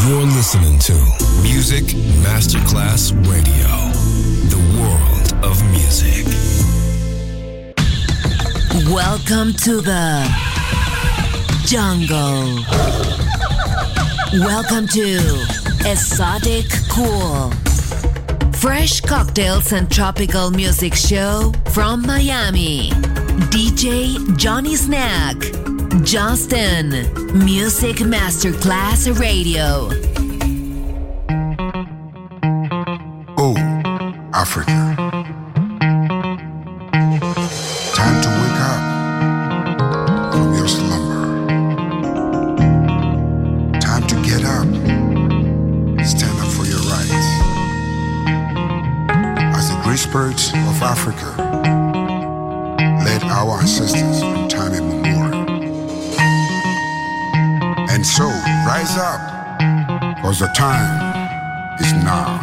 You're listening to Music Masterclass Radio, the world of music. Welcome to the jungle. Welcome to Exotic Cool. Fresh cocktails and tropical music show from Miami. DJ Johnny Snack. Justin. Music Masterclass Radio. Oh, Africa. Time to wake up from your slumber. Time to get up. Stand up for your rights. As the great spirits of Africa led our ancestors from time immemorial. And so, rise up, because the time is now.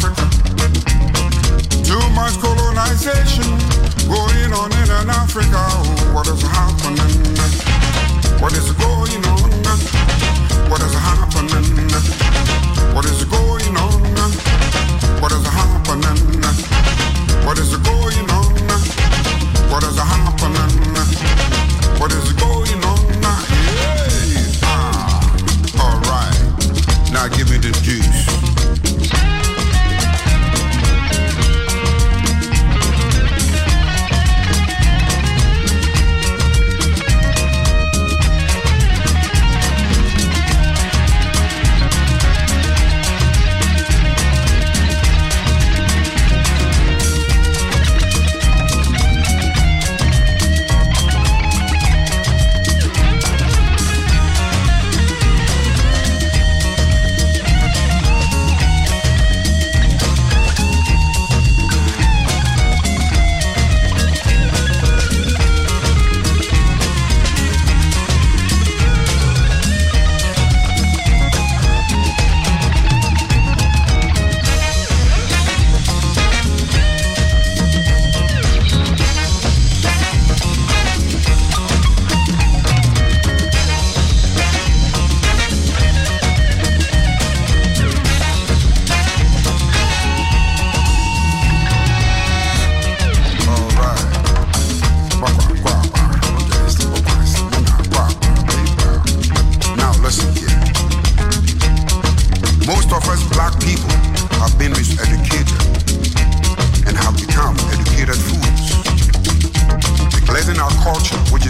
Africa.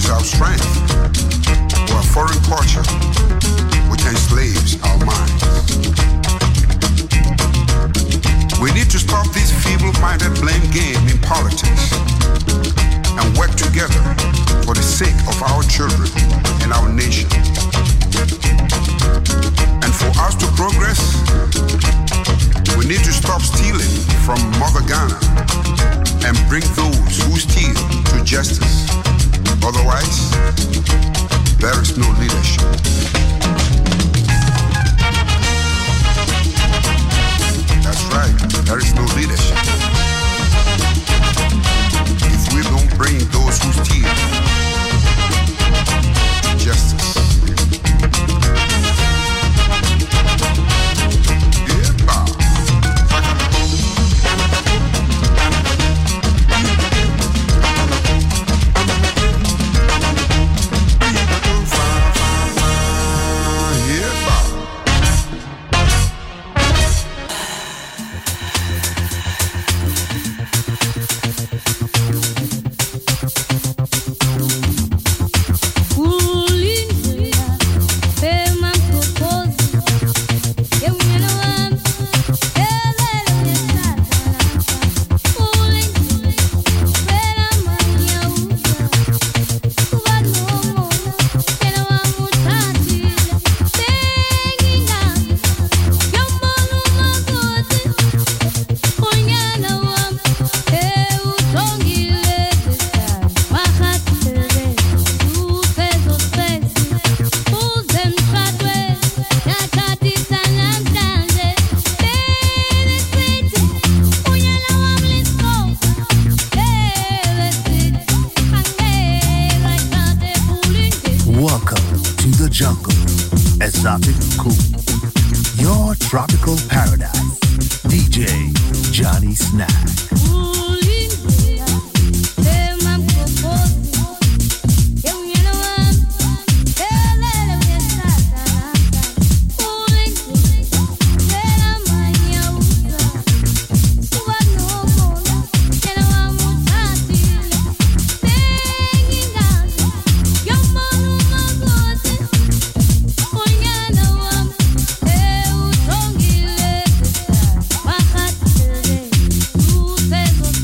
is our strength, or a foreign culture which enslaves our minds. We need to stop this feeble-minded blame game in politics and work together for the sake of our children and our nation. And for us to progress, we need to stop stealing from Mother Ghana and bring those who steal to justice. Otherwise, there is no leadership. That's right, there is no leadership. If we don't bring those who steal to justice. Exotic Cool, your tropical paradise. DJ Johnny Snack. Besos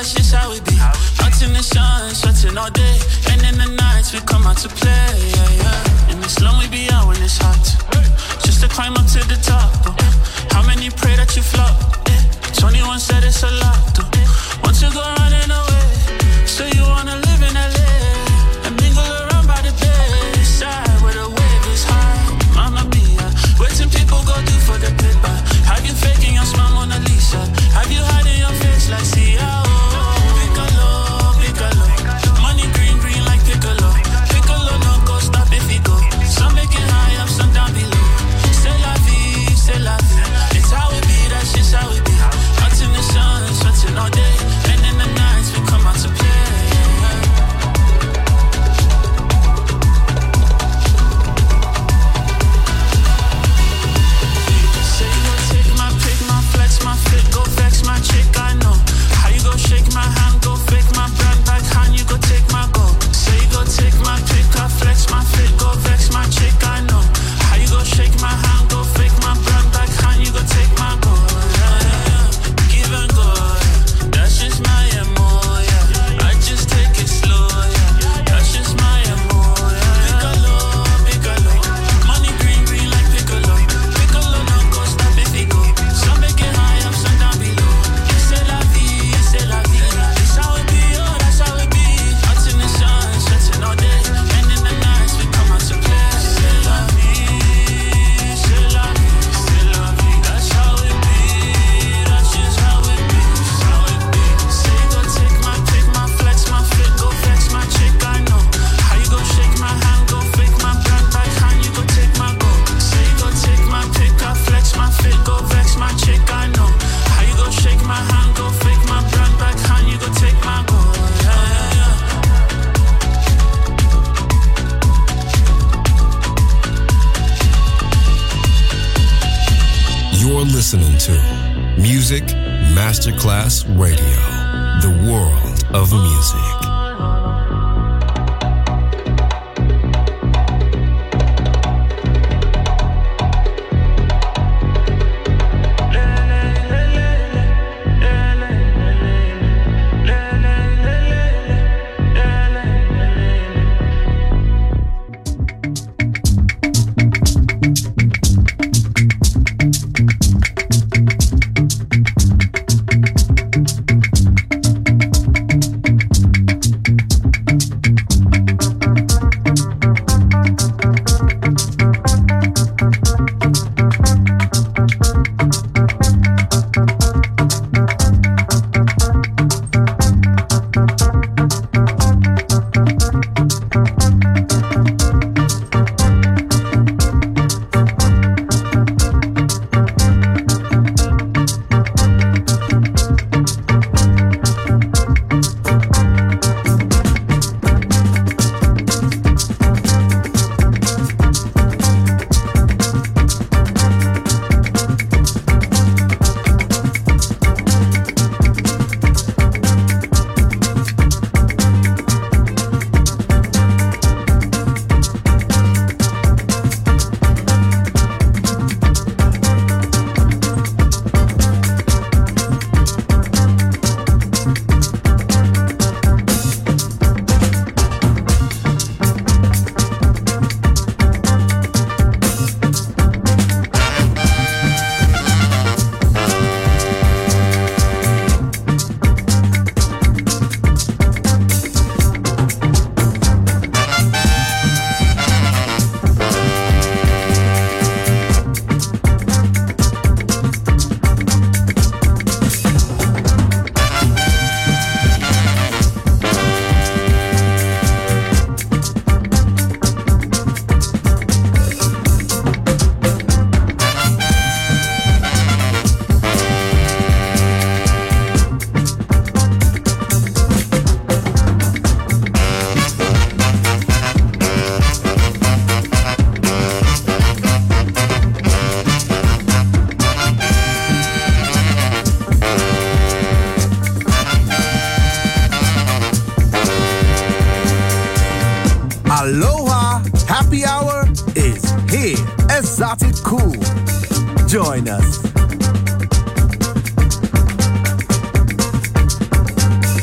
that's just how we be. Out in the sun, sweating all day. And in the nights we come out to play, yeah, yeah. In the slum we be out when it's hot, just to climb up to the top. How many pray that you flop? 21 said it's a lot. Once you go running away, so you wanna live in LA and mingle around by the bay side where the wave is high. Mamma mia, waiting people go do for the paper. Have you faking your smile, Mona Lisa? Have you hiding your face like Sia? Piccolo, piccolo, money green, green like piccolo. Piccolo no go stop if he go. Some make it high up, some down below. C'est la vie, c'est la vie. It's how it be, that's just how it be. Out in the sun, sweating all day, and in the nights we come out to play. Say you go take my pick, my flex, my fit, go vex my chick, I know. How you go shake my hand, go fake my brand back hand, you go take my go. Say you go take my pick, I flex my fit, go vex my chick, I know. How you go shake my hand, go fake my brand back hand, you go take my go. Give and go, that's just my MO, yeah. I just take it slow, yeah. That's just my MO, yeah. Piccolo, piccolo, money green, green like piccolo. Piccolo no go stop if he go. Some make it high up, some down below. C'est la vie, c'est la vie. It's how it be, oh, that's how it be. Out in the sun, sweating all day, and in the nights we come out to play. C'est la vie, c'est la vie, c'est la vie. That's how it be, that's just how it be, how it be. Say you go take my pick, my flex, my fit, go vex my chick, I know. How you go shake my hand, go fake my brand back hand, you go take my go. Say you go take my pick, I flex my fit, go vex my chick, I know. How you go shake my hand, go fake my brand back hand, you go take my go. Yeah, yeah, yeah. You're listening to Music Masterclass Radio, the world of music. Happy hour is here. Exotic Cool. Join us.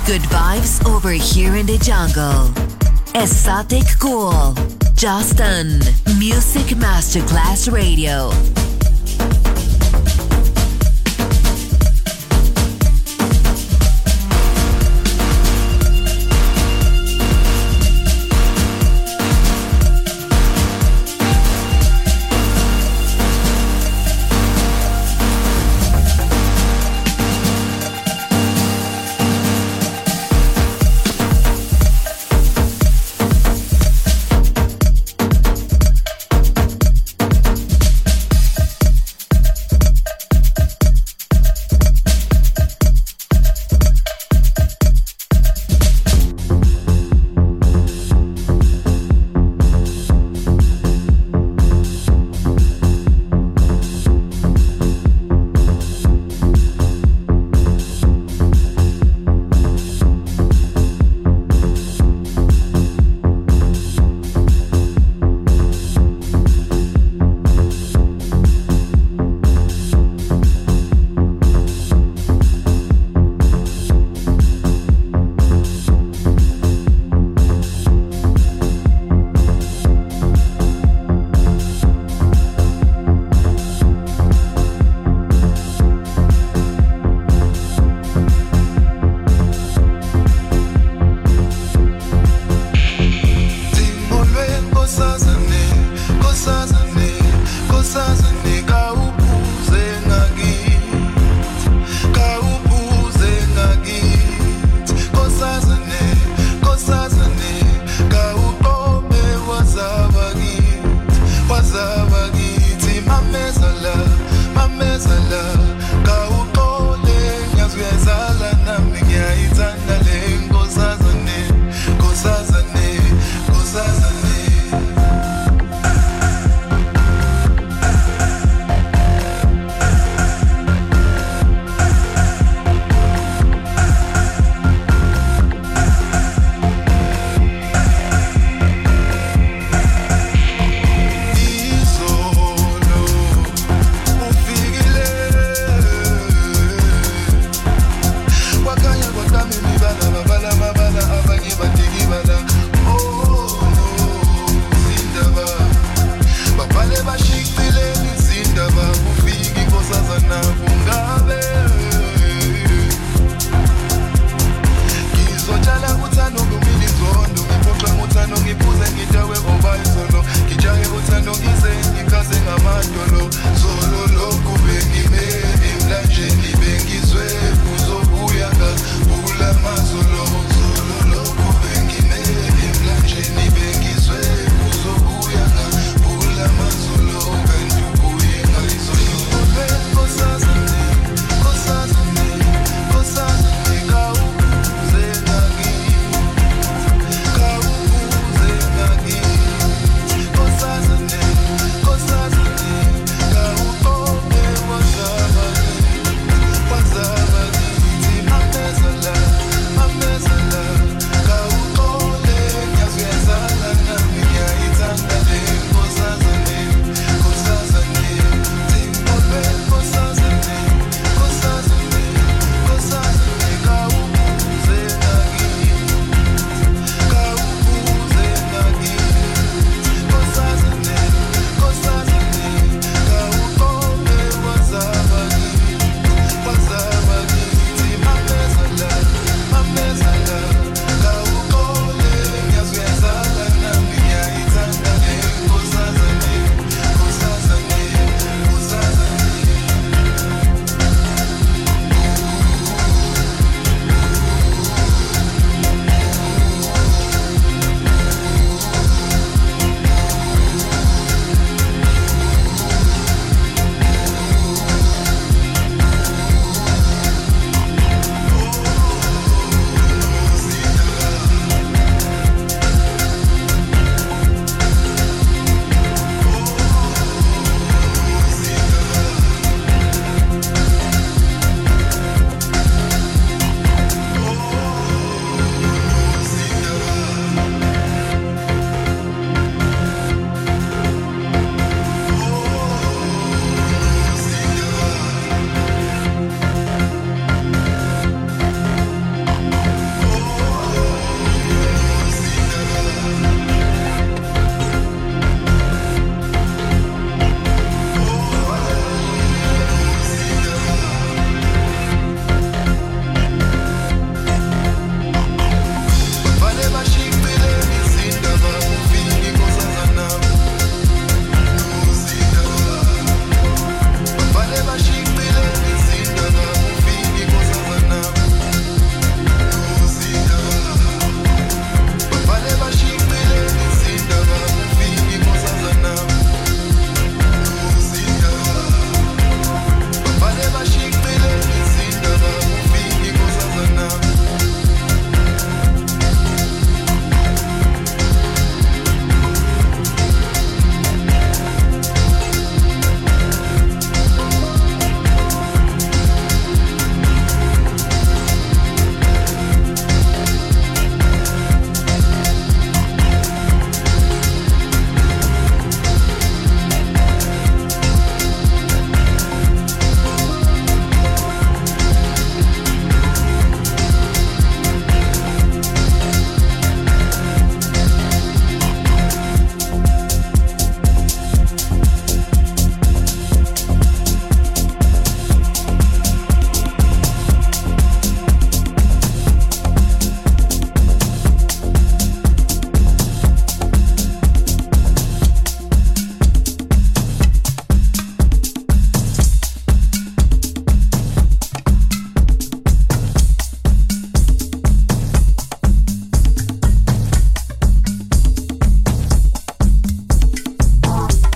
Good vibes over here in the jungle. Exotic Cool. Justin. Music Masterclass Radio.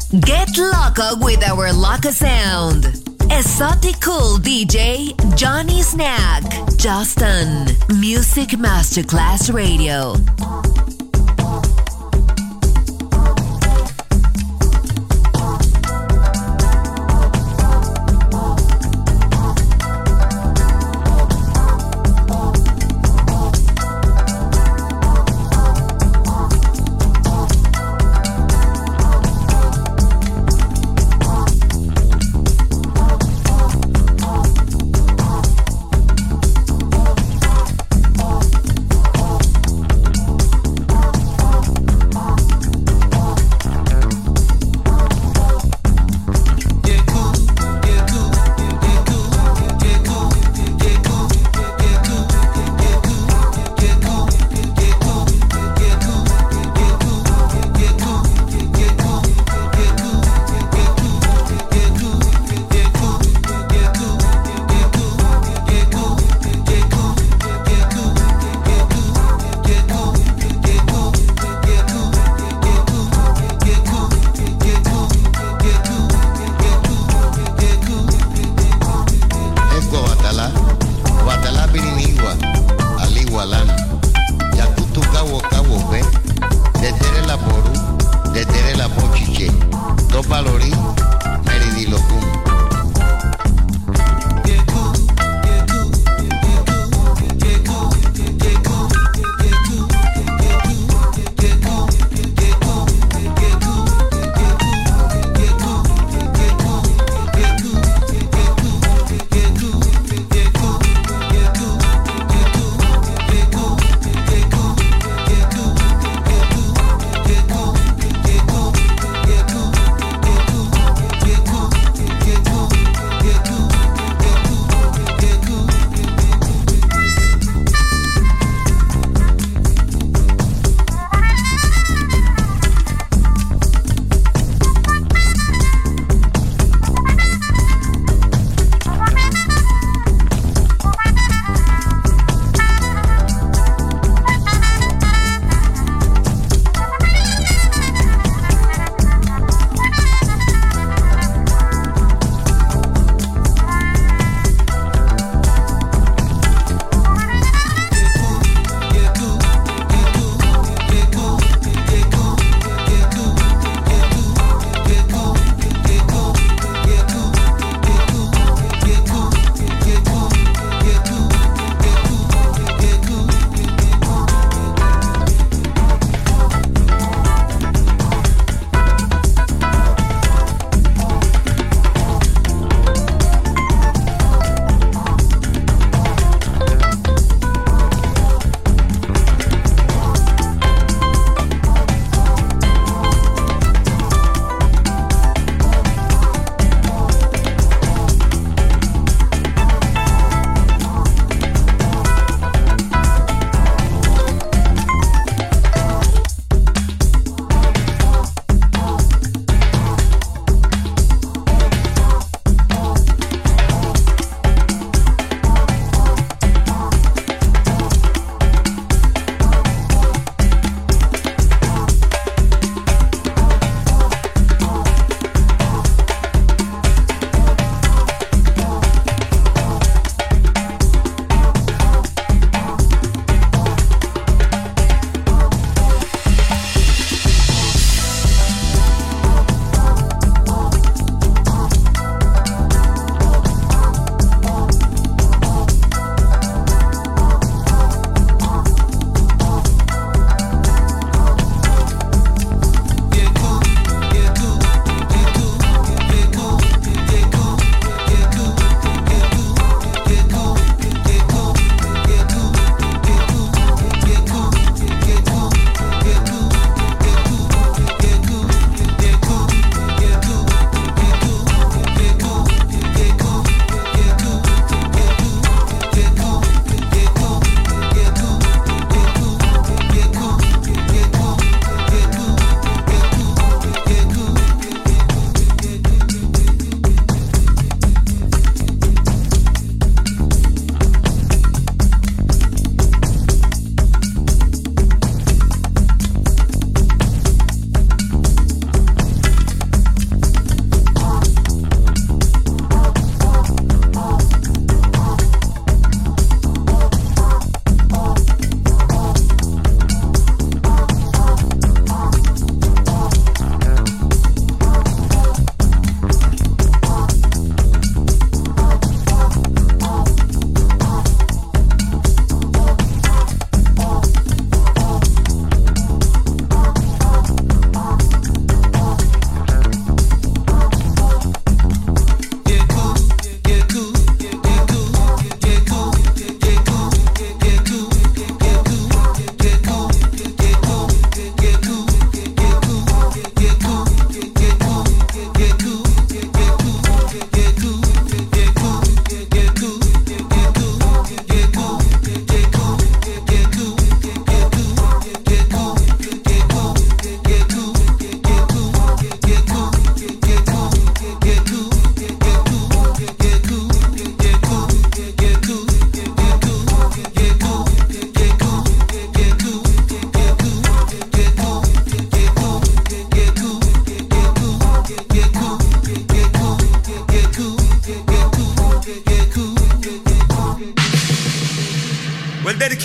Get loco with our loco sound. Exotic Cool DJ Johnny Snack. Justin. Music Masterclass Radio.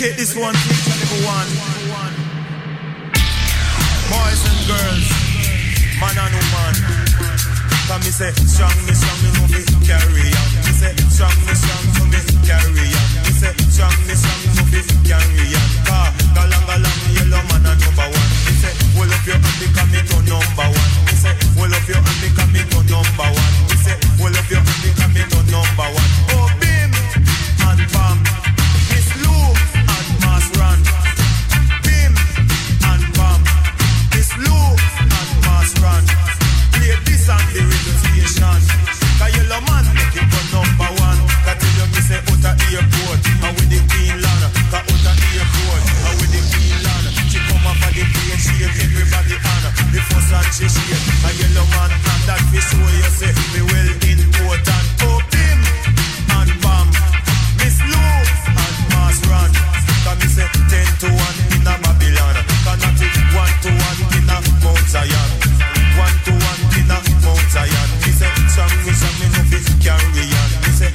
dedicate this one to each and every one. Boys and girls, man and woman. Come me say, strong me no fi carry on. Me say, strong me to me carry on. Me say, strong me no fi carry on. Galang yellow man a number one. Me say, hold up your hand because me to number one. Me say, hold up your hand because me to number one. Me say, hold up your hand because me to number one. Oh bim and bam, Miss Lou and Mass Run. Bim and bam, Miss Lou and Mass Run. Play this and the radio station. Cause yellow man make it go number one. Cause tell you me say out of airport and with the Queen Lana. Cause out of airport and with the Queen Lana. She come off of the plane, she give everybody honor. The first and she shake a yellow man. And that we show you say me well important. Oh bim and bam, Miss Lou and Mass Run. Cause me say 10 to 1 in a Babylon. Cause not it 1 to 1 in a Mount Zion. 1 to 1 in a Mount Zion. Me say, strong me no fit carry on. Me say,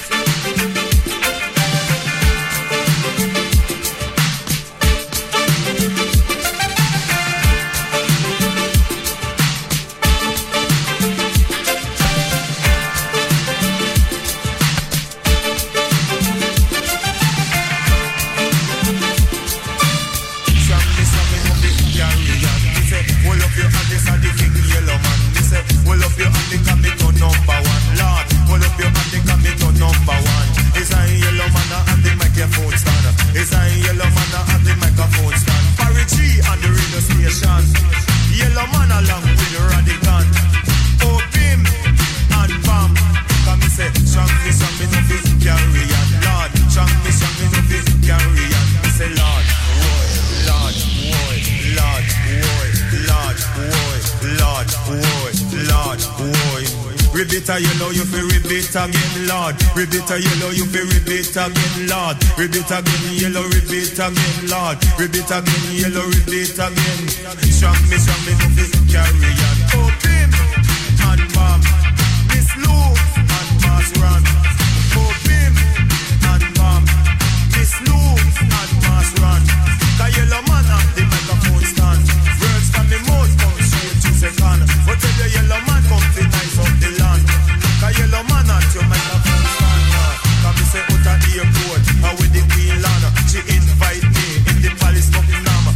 yellow, you feel repeat again, Lord. Repeat yellow, you feel repeat again, Lord. Repeat again, yellow, repeat again, Lord. Repeat again, yellow, repeat again. Strong me, no fit carry on. Oh, bim and bam, Miss Lou and Mass Run. Oh, bim and bam, Miss Lou and Mass Run. Cause yellow man at the microphone stand. Words from me mouth come straight to second. But tell the yellow man come to nice up the land. Cause yellow man at your microphone stand. Cause me say out of airport and with the Queen Lana. She invite me in the palace of Nama.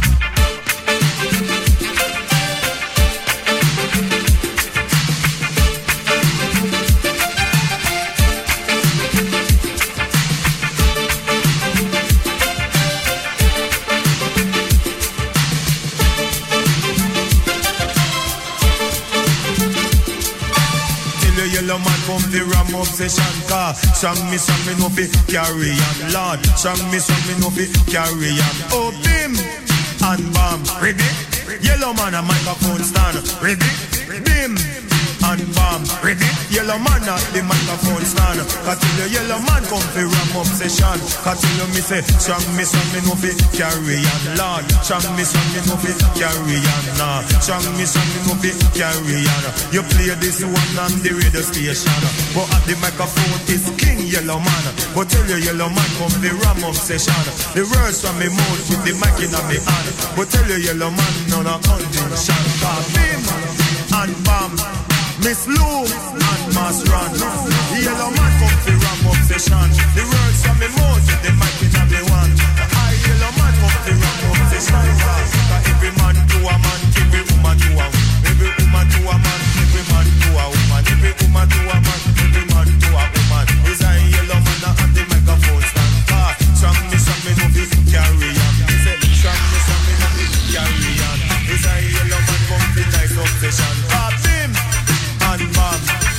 Yellow man come the ram obsession car. Strong me no fi carry on, Lord. Strong me no fi carry on. Oh bim and bam, ready? Yellow man a microphone stand, ready? Bim and bam, ready? Yellow man at the microphone stand. Cause till the yellow man come fi ram obsession. Cause till you me say, strong me no fi carry on, Lord. Strong me no fi carry on, nah. Strong me no fi carry on. You play this one on the radio station, but at the microphone is King Yellow Man. But tell you yellow man come the ram obsession. The words from me mouth with the mic in my hand. But tell you yellow man none of condition. Cause bim and bam, Miss Lou and Mass Run. The yellow man come the ram obsession. The words from me mouth with the mic in my hand. I yellow man come the ram obsession. Cause every man to a man, every woman to a woman. Every woman to a man, every man to a woman. Every woman to a man, every man to a woman. Is a yellow man at the microphone stand. Strong me no fit carry on. He said, strong me no fit carry on. Is a yellow man come the nice obsession. Bim and bam,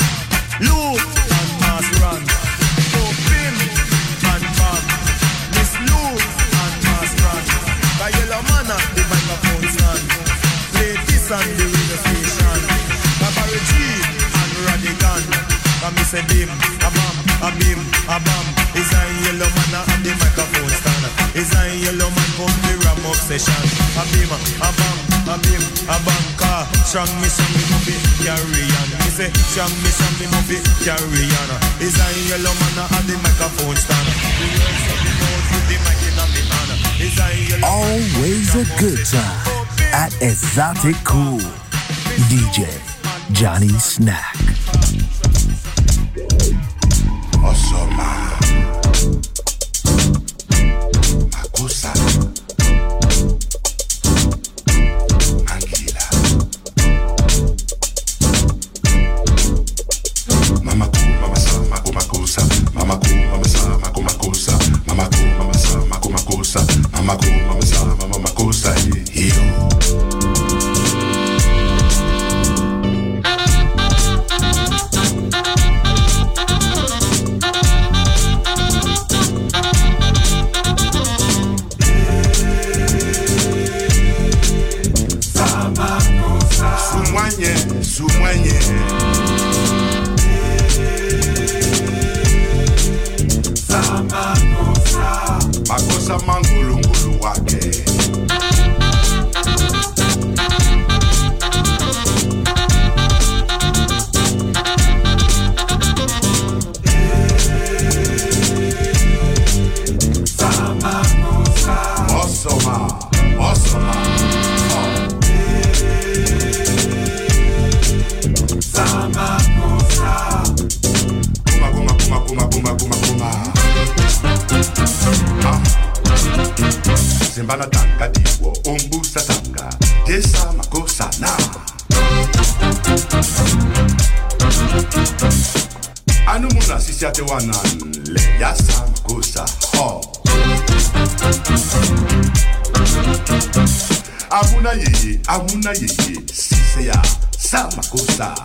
Lou and Mass Run. Oh bim and bam, Miss Lou and Mass Run. The yellow man at the microphone stand. Play this on the radio station. Cabaret G and Radigan. And me say bim, a bam, a bim, a bam. Is a yellow man at the microphone stand. Is a yellow man come the ram obsession. A bim, a bam, a bim, a bam. Car strong me no fit carry on. Me say strong me no fit carry on. Is a yellow man at the microphone stand. The words of the mouth with the Always a good time at Exotic Cool. DJ Johnny Snack. Osoma Makusa Angila Mama ku mama sa makusa Mama ku mama sa makusa Mama ku mama sa makusa Mama ku mama sa makusa hiyo. Sumwenye makosa mangulungulu wake Osoma Zimbana tanga diwo umbusa tanga Desa makosa na Anumuna sisi ate wananle Yasa makosa ho Amuna yeye Sise ya sa makosa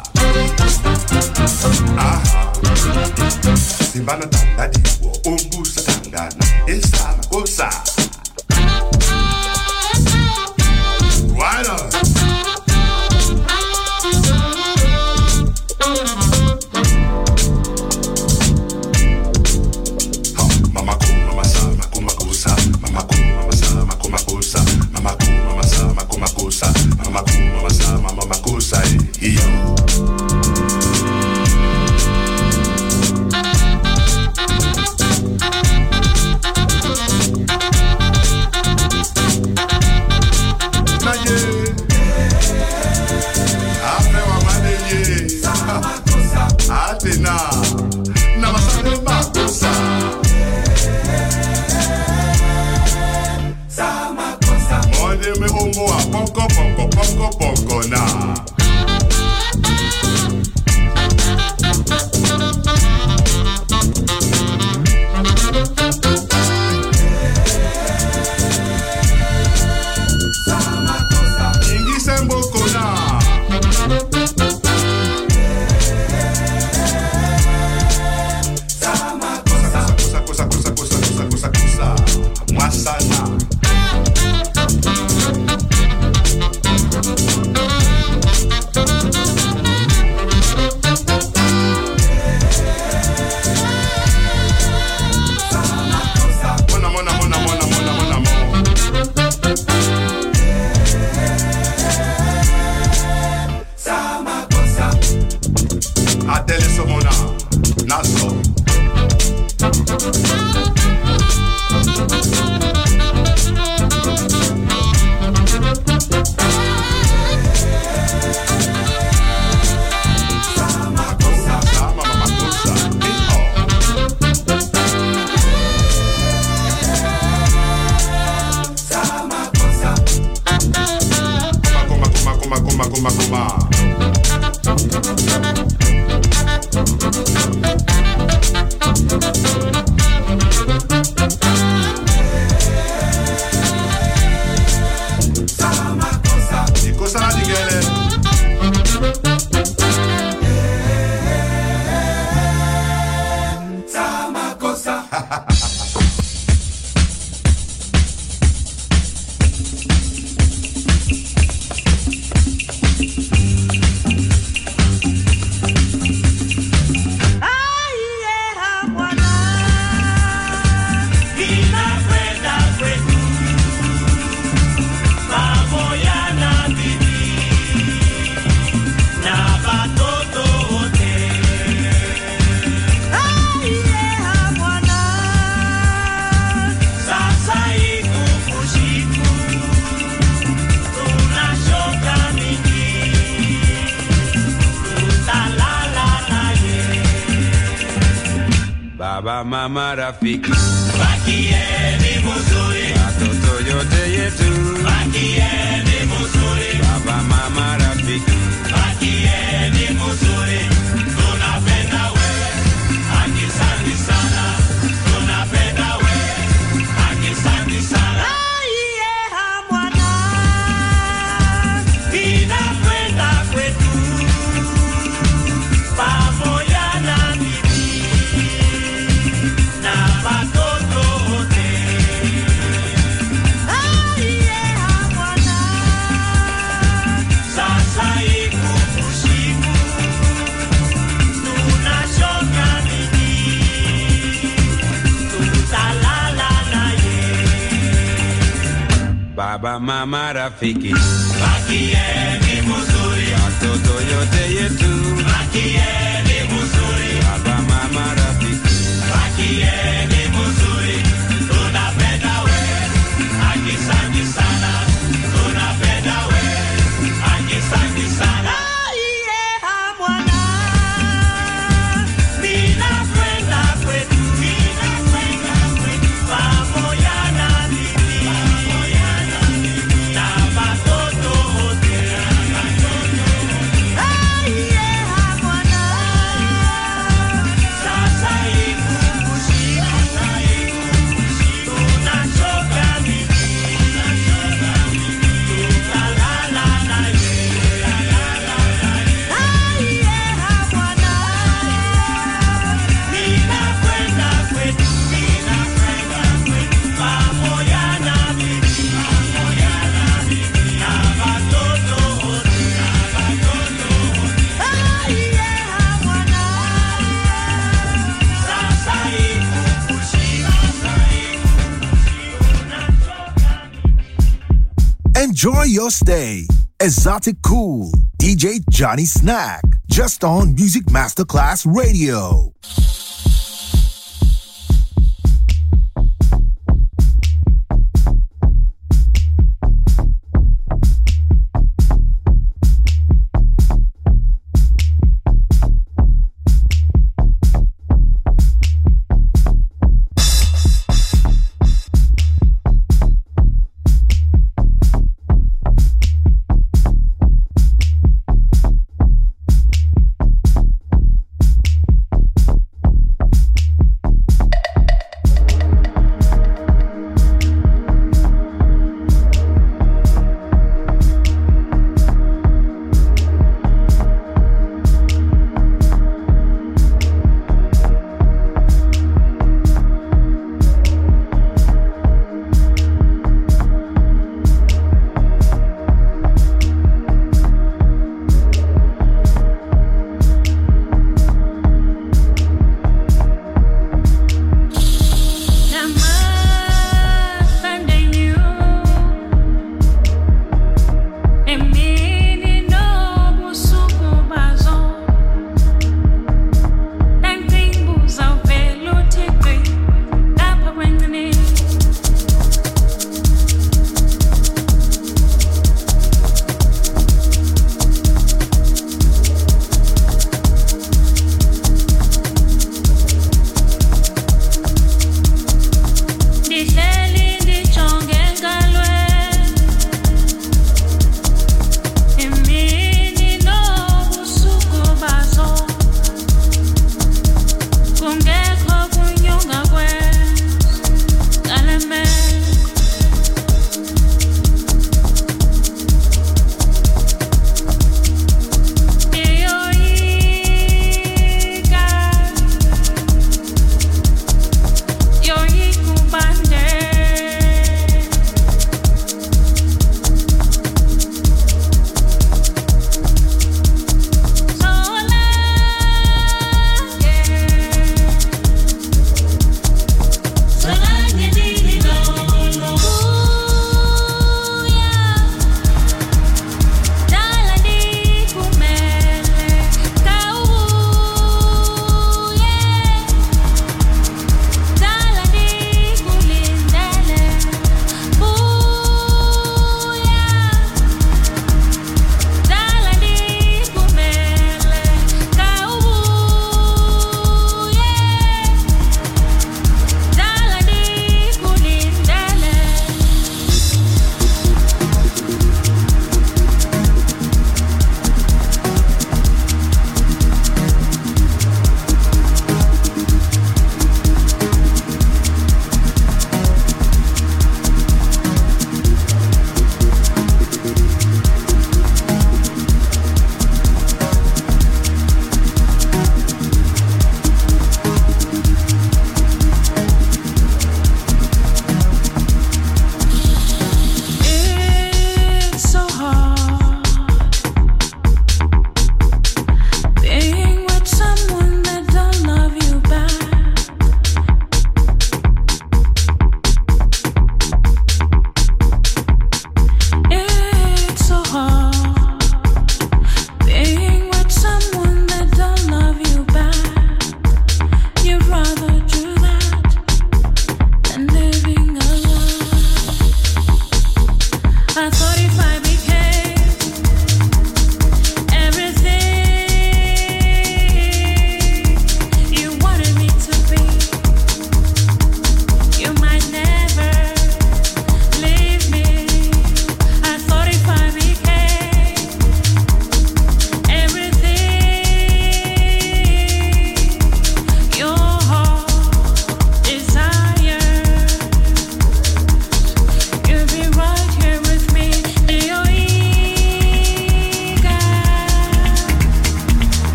Aha Zimbana tanga diwo umbusa tanga na Esa makosa Right on. Mama ku mama sa makusa Mama ku mama sa makusa Mama ku mama sa makusa Mama ku mama sa makusa hiyo. Baba mama rafiki Bakieni muzuri Watoto yote yetu Bakieni muzuri Baba mama rafiki Bakieni muzuri Tunapenda wewe Akisanti sana Tunapenda wewe Akisanti sana Aiye hamwana Inakwenda kwetu pamoja na bibi na watoto wote. Aiye hamwana sasa iko usiku tunashoka nini tutalala naye baba mama rafiki bakieni muzuri watoto yote yetu bakieni muzuri baba mama rafiki bakieni muzuri tunapenda wewe akisanti sana tunapenda wewe akisanti sana iye hamwana ninakwenda kwetu pamoja na bibi na watoto wote aiye hamwana sasa ikukushika tunachoka bibi tutalala naye aiye hamwana ninakwenda kwetu pamoja na bibi na watoto wote aiye hamwana sasa ikukushika Enjoy your stay. Exotic Cool. DJ Johnny Snack. Just on Music Masterclass Radio.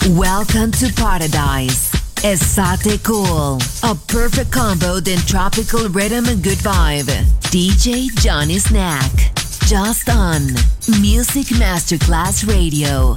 Welcome to Paradise. Estate Cool. A perfect combo in tropical rhythm and good vibe. DJ Johnny Snack. Just on Music Masterclass Radio.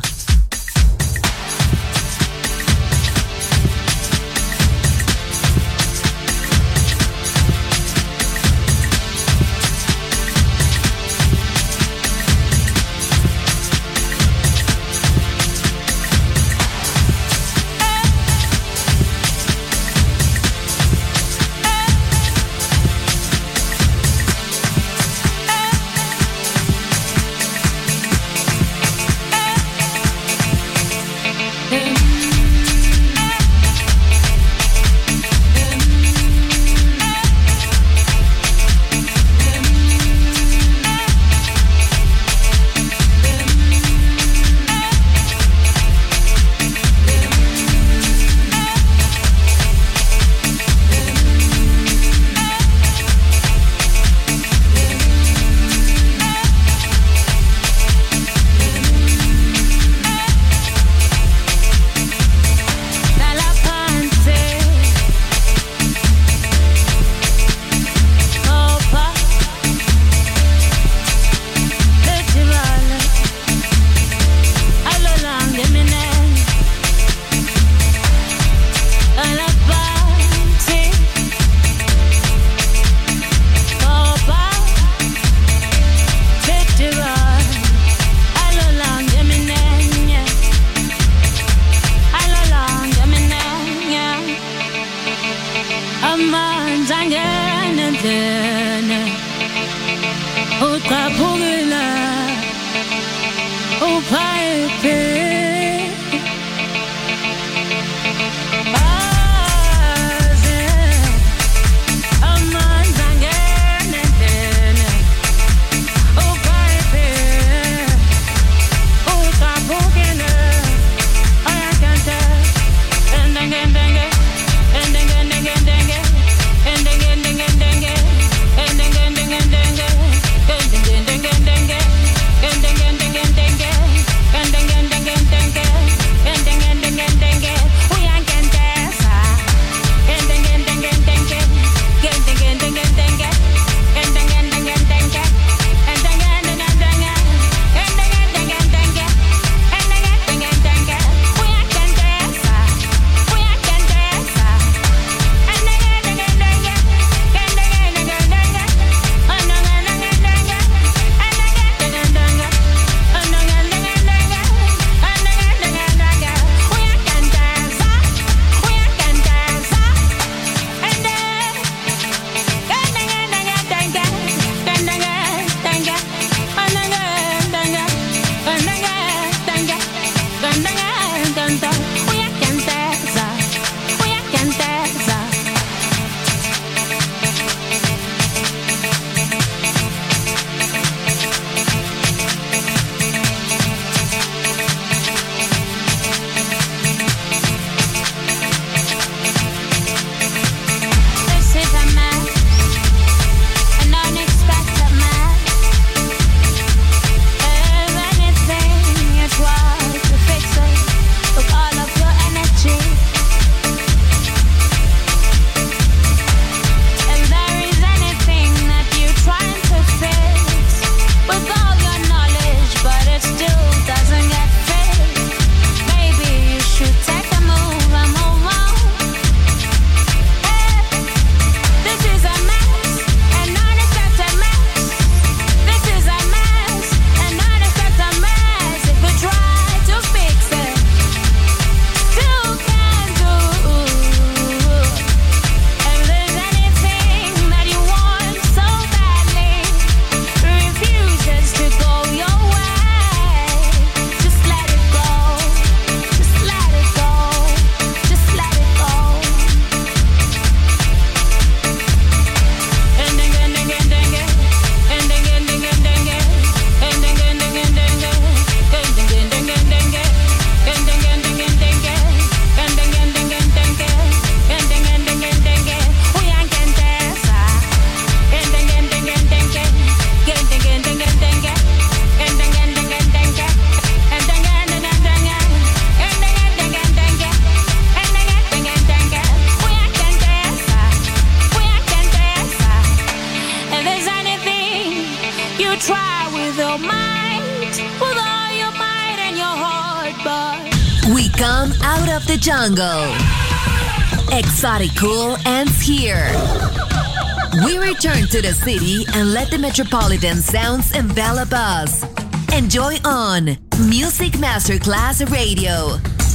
come out of the jungle. Exotic Cool ends here. We return to the city and let the metropolitan sounds envelop us. Enjoy on Music Masterclass Radio.